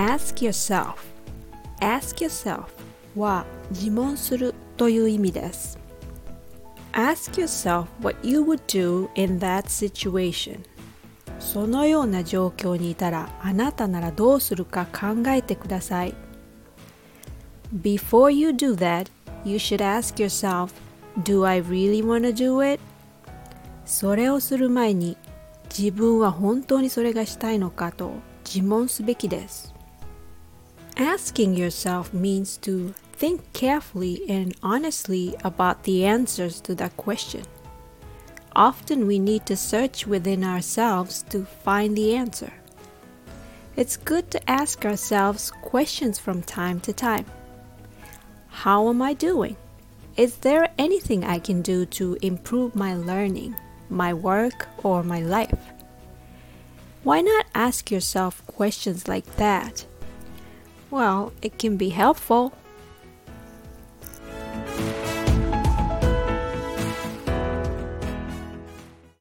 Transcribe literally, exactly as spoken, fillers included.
Ask yourself. Ask yourself は自問するという意味です。Ask yourself what you would do in that situation. そのような状況にいたらあなたならどうするか考えてください。Before you do that, you should ask yourself, Do I really want to do it? それをする前に自分は本当にそれがしたいのかと自問すべきです。Asking yourself means to think carefully and honestly about the answers to that question. Often we need to search within ourselves to find the answer. It's good to ask ourselves questions from time to time. How am I doing? Is there anything I can do to improve my learning, my work, or my life? Why not ask yourself questions like that? Well, it can be helpful.